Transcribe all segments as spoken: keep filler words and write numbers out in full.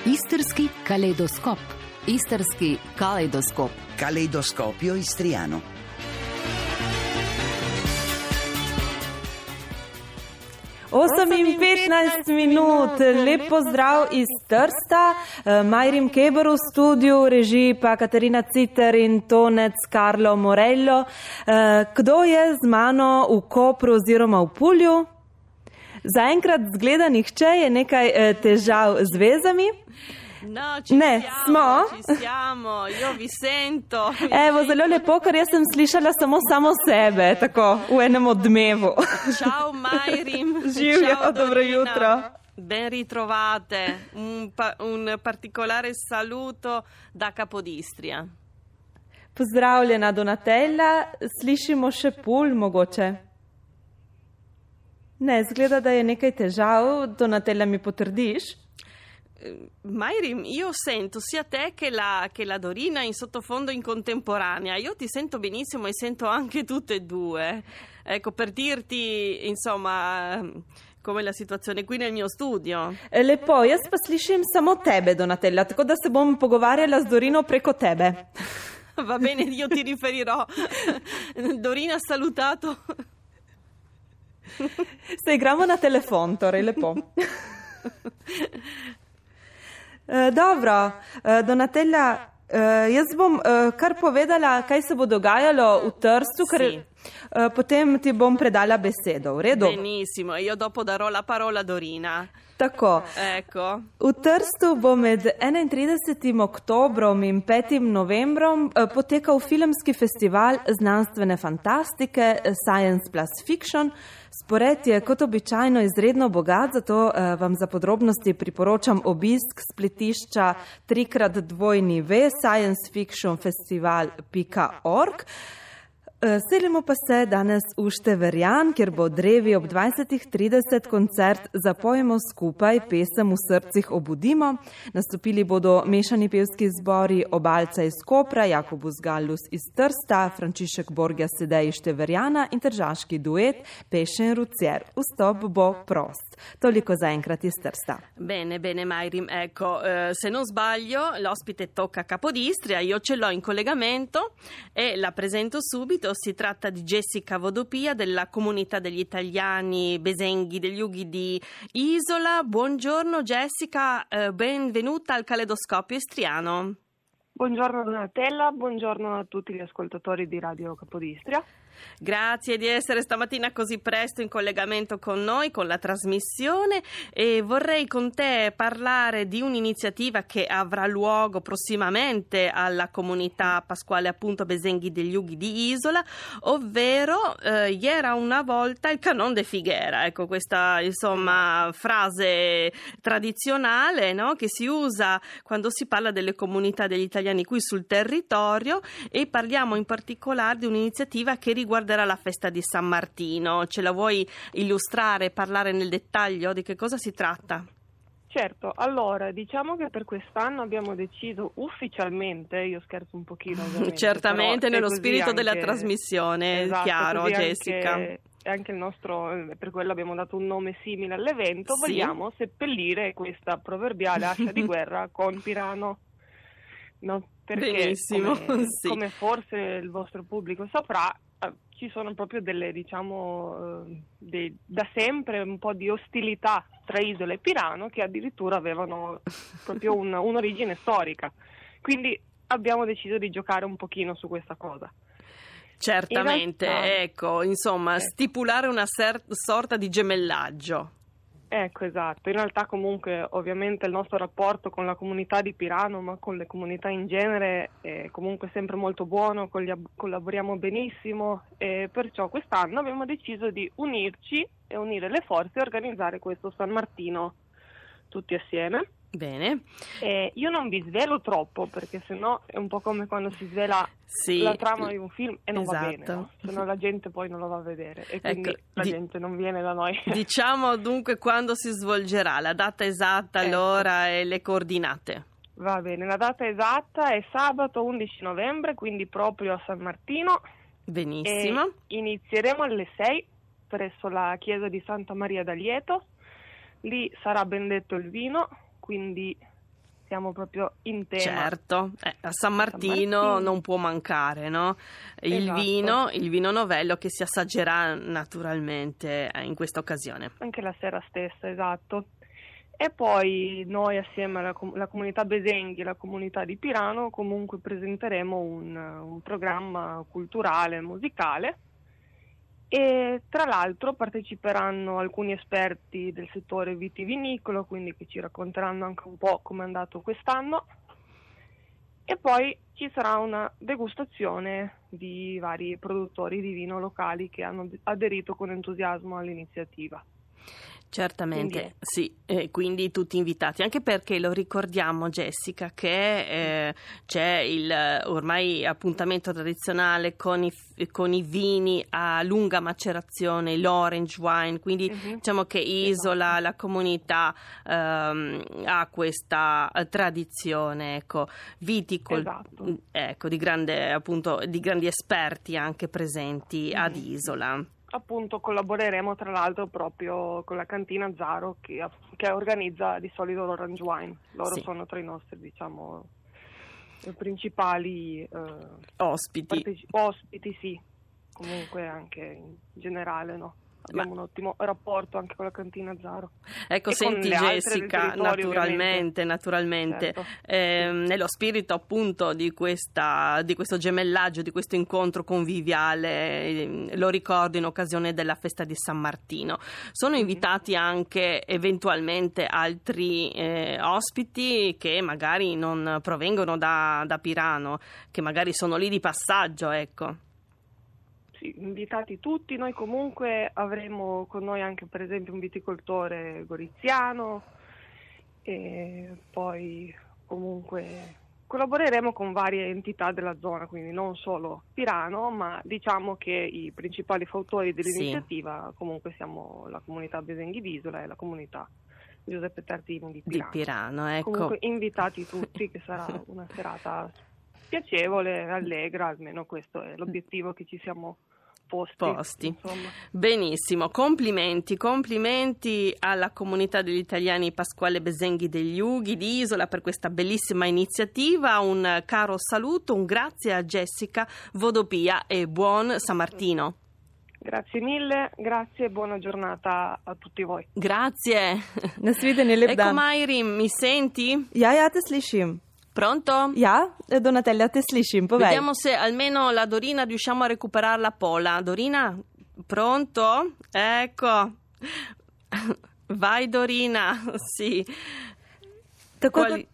Istarski kaleidoskop. Istarski kaleidoskop. Caleidoscopio istriano. osem in petnajst minut, lep pozdrav iz Trsta, Majrim Keber v studiu, režiji pa Katarina Citer in tonec Karlo Morello. Kdo je z mano v Kopru oziroma v Pulju? Zaenkrat zgleda nihče, je nekaj težav z vezami. No, ci ne, siamo, smo. ci siamo, io vi sento. Evo, zelo lepo, ker jaz sem slišala samo samo sebe, tako, v enem odmevu. Ciao Majrim. Živjo, Ciao, dobro Dorina. jutro. Ben ritrovate, un, pa, un particolare saluto da Capodistria. Pozdravljena Donatella, slišimo še Pul mogoče. Ne, zgleda, da je nekaj težav, Donatella mi potrdiš? Majrim, io sento sia te che la, che la Dorina in sottofondo in contemporanea. Io ti sento benissimo e sento anche tutte e due. Ecco, per dirti, insomma, come la situazione qui nel mio studio. Lepo, jaz pa slišim samo tebe, Donatella, tako da se bom pogovarjala z Dorino preko tebe. Va bene, io ti riferirò. Dorina ha salutato. Se igramo na telefon, torej lepo. Uh, dobro, uh, Donatella, uh, jaz bom uh, kar povedala, kaj se bo dogajalo v Trstu, ker Sì. uh, potem ti bom predala besedo, v redu? Benissimo, io dopo darò la parola a Dorina. Tako. Ecco. V Trstu bo med enaintridesetim oktobrom in petim novembrom uh, potekal filmski festival znanstvene fantastike Science plus Fiction. Spored je kot običajno izredno bogat, zato uh, vam za podrobnosti priporočam obisk spletišča trikrat dvojni v science fiction festival pika org. Selimo pa se danes v Števerjan, kjer bo drevi ob dvajsetih trideset koncert Zapojemo skupaj, pesem v srcih obudimo. Nastopili bodo mešani pevski zbori Obalca iz Kopra, Jakobus Gallus iz Trsta, Frančišek Borgia Sedej iz Števerjana in tržaški duet Pesce in Ruzier. Vstop bo prost. Toliko zaenkrat iz Trsta. Bene, bene Majrim, ecco, eh, se non sbaglio l'ospite tocca a Capodistria, io ce l'ho in collegamento e la presento subito. Si tratta di Jessica Vodopia della comunità degli italiani Besenghi degli Ughi di Isola. Buongiorno Jessica, eh, benvenuta al Caleidoscopio Istriano. Buongiorno Donatella, buongiorno a tutti gli ascoltatori di Radio Capodistria. Grazie di essere stamattina così presto in collegamento con noi, con la trasmissione, e vorrei con te parlare di un'iniziativa che avrà luogo prossimamente alla comunità pasquale appunto Besenghi degli Ughi di Isola, ovvero eh, era una volta il Canon de Figuera, ecco questa insomma frase tradizionale, no? Che si usa quando si parla delle comunità degli italiani qui sul territorio, e parliamo in particolare di un'iniziativa che riguarda riguarderà la festa di San Martino. Ce la vuoi illustrare, parlare nel dettaglio di che cosa si tratta? Certo, allora diciamo che per quest'anno abbiamo deciso ufficialmente, io scherzo un pochino ovviamente, certamente nello spirito anche, della trasmissione, esatto, chiaro Jessica. Anche, anche il nostro, per quello abbiamo dato un nome simile all'evento, Sì. Vogliamo seppellire questa proverbiale ascia di guerra con Pirano. No, perché Benissimo, come, sì. come forse il vostro pubblico saprà, ci sono proprio delle, diciamo, eh, dei, da sempre un po' di ostilità tra Isola e Pirano che addirittura avevano proprio un, un'origine storica. Quindi abbiamo deciso di giocare un pochino su questa cosa. Certamente, In realtà, ecco, insomma, eh. stipulare una ser- sorta di gemellaggio. Ecco, esatto. In realtà comunque ovviamente il nostro rapporto con la comunità di Pirano, ma con le comunità in genere, è comunque sempre molto buono, collaboriamo benissimo, e perciò quest'anno abbiamo deciso di unirci e unire le forze e organizzare questo San Martino tutti assieme. Bene. E io non vi svelo troppo, perché sennò è un po' come quando si svela Sì. la trama di un film e non Esatto. va bene, no? Sennò la gente poi non lo va a vedere e quindi Ecco, la di- gente non viene da noi. Diciamo dunque quando si svolgerà, la data esatta, Ecco. l'ora e le coordinate. Va bene, la data esatta è sabato undici novembre, quindi proprio a San Martino. Benissimo. E inizieremo alle sei presso la chiesa di Santa Maria d'Alieto. Lì sarà bendetto il vino, quindi siamo proprio in tema. Certo, eh, a San Martino, San Martino non può mancare, no? Il esatto. vino, il vino novello che si assaggerà naturalmente in questa occasione. Anche la sera stessa, esatto. E poi noi assieme alla com- la comunità Besenghi e la comunità di Pirano comunque presenteremo un, un programma culturale, musicale, e tra l'altro parteciperanno alcuni esperti del settore vitivinicolo, quindi che ci racconteranno anche un po' come è andato quest'anno, e poi ci sarà una degustazione di vari produttori di vino locali che hanno aderito con entusiasmo all'iniziativa. Certamente, quindi, sì, eh, quindi tutti invitati, anche perché lo ricordiamo, Jessica, che eh, c'è il ormai appuntamento tradizionale con i, con i vini a lunga macerazione, l'orange wine, quindi uh-huh. diciamo che Isola, esatto. la comunità ehm, ha questa tradizione, ecco, viticol- esatto. ecco, di grande, appunto, di grandi esperti anche presenti uh-huh. ad Isola. Appunto collaboreremo tra l'altro proprio con la cantina Zaro che, che organizza di solito l'Orange Wine. Loro sì. sono tra i nostri, diciamo, principali eh, ospiti. Parteci- ospiti, sì, comunque anche in generale, no? Abbiamo Ma... un ottimo rapporto anche con la cantina Zaro. Ecco, e senti Jessica, naturalmente, naturalmente certo. eh, nello spirito appunto di questa di questo gemellaggio, di questo incontro conviviale, eh, lo ricordo in occasione della festa di San Martino. Sono invitati mm-hmm. anche eventualmente altri eh, ospiti che magari non provengono da, da Pirano, che magari sono lì di passaggio, ecco. Sì, invitati tutti. Noi comunque avremo con noi anche per esempio un viticoltore goriziano, e poi comunque collaboreremo con varie entità della zona, quindi non solo Pirano, ma diciamo che i principali fautori dell'iniziativa sì. comunque siamo la comunità Besenghi d'Isola e la comunità Giuseppe Tartini di Pirano. Di Pirano, ecco. Comunque invitati tutti, che sarà una serata piacevole, allegra, almeno questo è l'obiettivo che ci siamo posti. posti. Benissimo, complimenti, complimenti alla comunità degli italiani Pasquale Besenghi degli Ughi di Isola per questa bellissima iniziativa. Un caro saluto, un grazie a Jessica Vodopia e buon San Martino. Grazie mille, grazie e buona giornata a tutti voi. Grazie. Ecco Mayrim, mi senti? Ja, ja, te slišim. Pronto? Ja, Donatella, te slišim, povej. Vediamo se almeno la Dorina riusciamo a recuperare la Pola. Dorina, pronto? Ecco. Vai Dorina, sì. Tako Quali...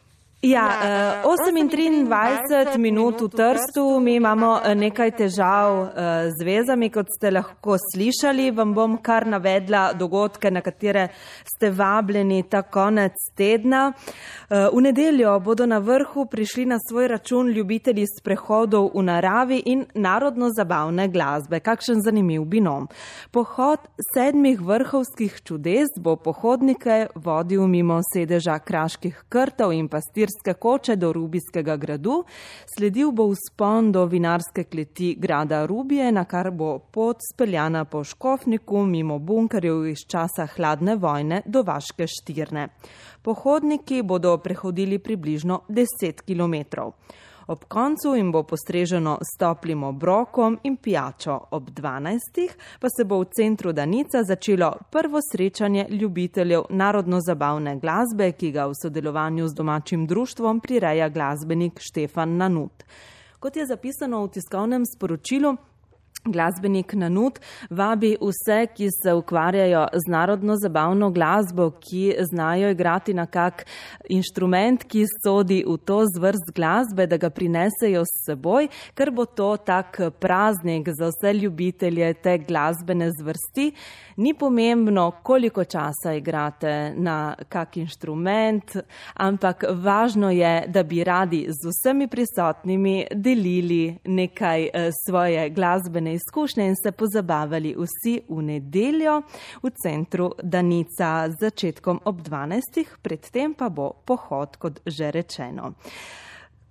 Ja, osem in triindvajset minut v Trstu, mi imamo nekaj težav z vezami, kot ste lahko slišali. Vam bom kar navedla dogodke, na katere ste vabljeni ta konec tedna. V nedeljo bodo na vrhu prišli na svoj račun ljubitelji sprehodov v naravi in narodno-zabavne glasbe. Kakšen zanimiv binom. Pohod sedmih vrhovskih čudes bo pohodnike vodil mimo sedeža kraških krtov in pastirskih koče do Rubijskega gradu, sledil bo vzpon do vinarske kleti grada Rubije, na kar bo pot speljana po Škofniku mimo bunkerjev iz časa hladne vojne do Vaške Štirne. Pohodniki bodo prehodili približno deset kilometrov. Ob koncu jim bo postreženo s toplim obrokom in pijačo. Ob dvanajstih pa se bo v centru Danica začelo prvo srečanje ljubiteljev narodno-zabavne glasbe, ki ga v sodelovanju z domačim društvom prireja glasbenik Štefan Nanut. Kot je zapisano v tiskovnem sporočilu, glasbenik Nanut vabi vse, ki se ukvarjajo z narodno-zabavno glasbo, ki znajo igrati na kak inštrument, ki sodi v to zvrst glasbe, da ga prinesejo s seboj, ker bo to tak praznik za vse ljubitelje te glasbene zvrsti. Ni pomembno, koliko časa igrate na kak inštrument, ampak važno je, da bi radi z vsemi prisotnimi delili nekaj svoje glasbene izkušnje in se pozabavali vsi v nedeljo v centru Danica z začetkom ob dvanajstih, predtem pa bo pohod, kot že rečeno.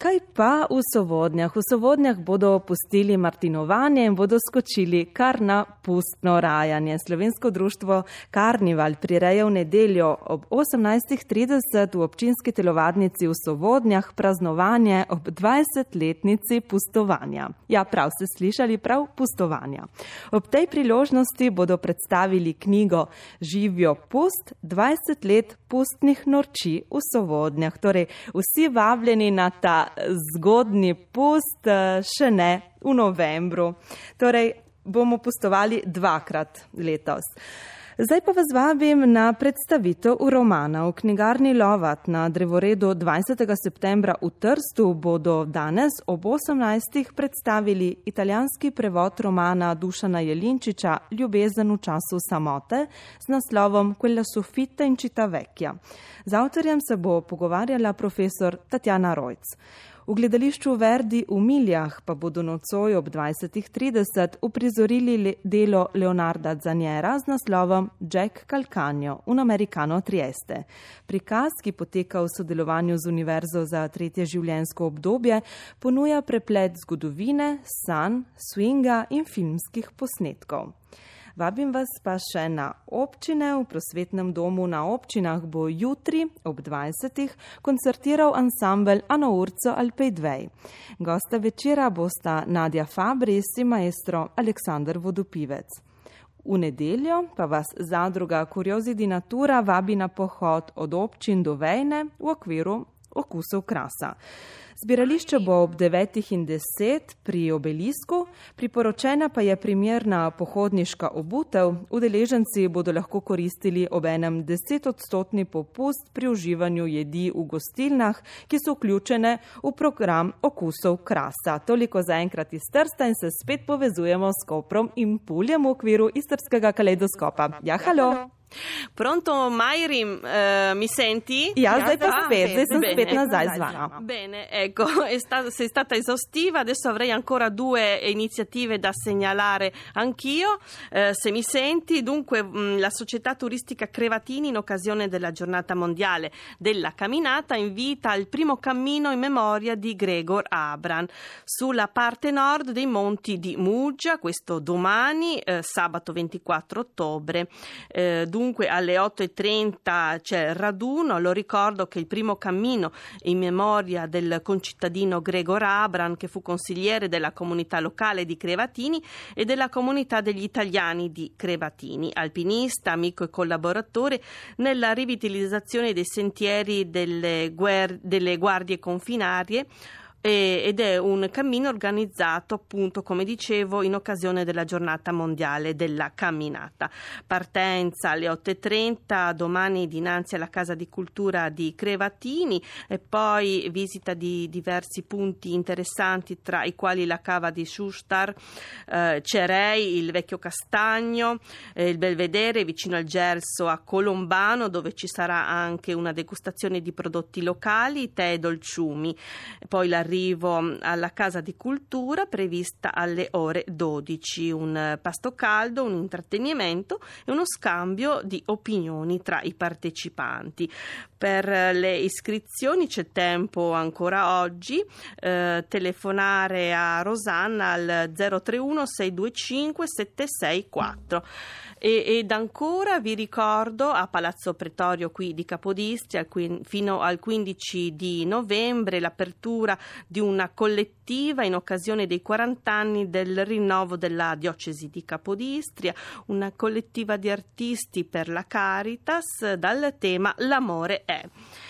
Kaj pa v Sovodnjah? V Sovodnjah bodo pustili martinovanje in bodo skočili kar na pustno rajanje. Slovensko društvo Karnival prireja v nedeljo ob osemnajstih trideset v občinski telovadnici v Sovodnjah praznovanje ob dvajsetletnici pustovanja. Ja, prav ste slišali, prav pustovanja. Ob tej priložnosti bodo predstavili knjigo Živijo pust, dvajset let pustnih norči v Sovodnjah. Torej, vsi vabljeni na ta zgodnji pust, še ne v novembru. Torej, bomo pustovali dvakrat letos. Zdaj pa vas vabim na predstavitev romana. V knjigarni Lovat na drevoredu dvajsetega septembra v Trstu bodo danes ob osemnajstih predstavili italijanski prevod romana Dušana Jelinčiča Ljubezen v času samote z naslovom Quella soffitta in città vecchia. Z avtorjem se bo pogovarjala profesor Tatjana Rojc. V gledališču Verdi v Miljah pa bodo nocoj ob dvajsetih trideset uprizorili delo Leonarda Zaniera z naslovom Jack Calcagno, un americano Trieste. Prikaz, ki poteka v sodelovanju z Univerzo za tretje življenjsko obdobje, ponuja preplet zgodovine, sanj, swinga in filmskih posnetkov. Vabim vas pa še na občine. V prosvetnem domu na občinah bo jutri ob dvajsetih koncertiral ansambel Ano Urco al Pejdvej. Gosta večera bosta Nadja Fabris in maestro Aleksandar Vodopivec. V nedeljo pa vas zadruga Curiosity Natura vabi na pohod od občin do Vejne v okviru Okusov krasa. Zbirališče bo ob devetih in deset pri obelisku, priporočena pa je primerna pohodniška obutev. Udeleženci bodo lahko koristili obenem desetodstotni popust pri uživanju jedi v gostilnah, ki so vključene v program Okusov krasa. Toliko zaenkrat iz Trsta in se spet povezujemo s Koprom in Puljem v okviru istrskega kaleidoskopa. Ja, halo! Pronto, Mayrim, uh, mi senti? Ja, zdaj pa spet, zdaj sem spet nazaj z vama. Bene, ecco, è stata, sei stata esaustiva, adesso avrei ancora due iniziative da segnalare anch'io, uh, se mi senti. Dunque, mh, la società turistica Crevatini, in occasione della giornata mondiale della camminata, invita al primo cammino in memoria di Gregor Abram sulla parte nord dei monti di Muggia, questo domani, uh, sabato ventiquattro ottobre, uh, Dunque alle otto e trenta c'è il raduno. Lo ricordo che il primo cammino in memoria del concittadino Gregor Abram, che fu consigliere della comunità locale di Crevatini e della comunità degli italiani di Crevatini, alpinista, amico e collaboratore nella rivitalizzazione dei sentieri delle, guer- delle guardie confinarie, ed è un cammino organizzato, appunto, come dicevo, in occasione della giornata mondiale della camminata. Partenza alle otto e trenta domani dinanzi alla Casa di Cultura di Crevatini e poi visita di diversi punti interessanti, tra i quali la cava di Sustar, eh, Cerei, il Vecchio Castagno, eh, il Belvedere vicino al Gelso a Colombano, dove ci sarà anche una degustazione di prodotti locali, tè e dolciumi. Poi la arrivo alla Casa di Cultura prevista alle ore dodici, un pasto caldo, un intrattenimento e uno scambio di opinioni tra i partecipanti. Per le iscrizioni c'è tempo ancora oggi, eh, telefonare a Rosanna al zero tre uno sei due cinque sette sei quattro. E, ed ancora vi ricordo a Palazzo Pretorio qui di Capodistria fino al quindici di novembre l'apertura di una collettiva in occasione dei quaranta anni del rinnovo della diocesi di Capodistria, una collettiva di artisti per la Caritas dal tema L'amore è.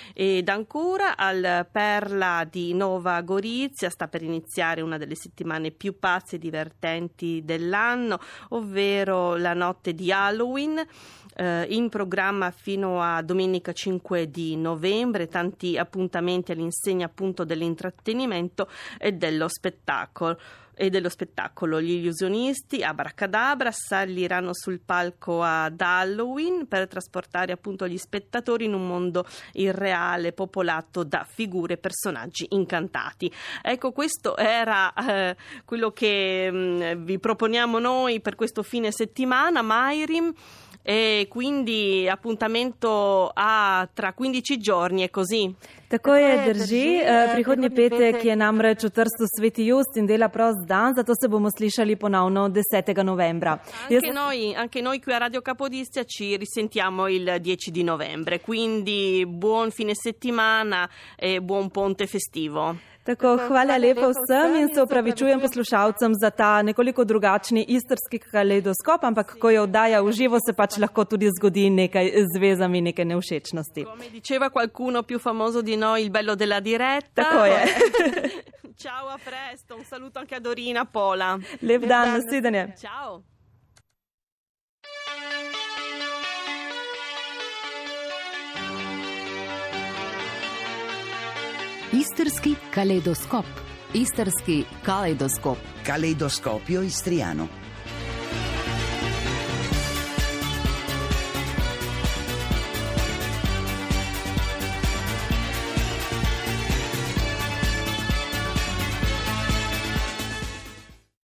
Ed ancora al Perla di Nova Gorizia sta per iniziare una delle settimane più pazze e divertenti dell'anno, ovvero la notte di Halloween, eh, in programma fino a domenica cinque di novembre, tanti appuntamenti all'insegna appunto dell'intrattenimento e dello spettacolo. e dello spettacolo. Gli illusionisti Abracadabra saliranno sul palco ad Halloween per trasportare appunto gli spettatori in un mondo irreale popolato da figure e personaggi incantati. Ecco, questo era eh, quello che mh, vi proponiamo noi per questo fine settimana. Mayrim, e quindi appuntamento a tra quindici giorni, è così? Tako je, drži. Prihodnji petek je namreč v Trstu Sveti Just in dela prost dan, zato se bomo slišali ponovno desetega novembra. Anche, Jaz... noi, anche noi qui a Radio Capodistria ci risentiamo il dieci di novembre, quindi buon fine settimana e buon ponte festivo. Tako, hvala lepa vsem in se opravičujem poslušalcem za ta nekoliko drugačni istrski kaleidoskop, ampak ko je oddaja v živo, se pač lahko tudi zgodi nekaj z vezami, nekaj nevšečnosti. Come diceva qualcuno più famoso di noi, il bello della diretta. Tako je. Ciao, a presto, un saluto anche a Dorina, Pola. Lep dan, nasvidenje. Ciao. Istrski kaleidoskop. Istrski kaleidoskop. Caleidoscopio istriano.